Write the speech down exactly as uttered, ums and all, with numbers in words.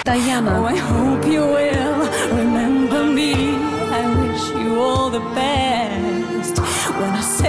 Diana. Oh, I hope you will remember me. I wish you all the best. When I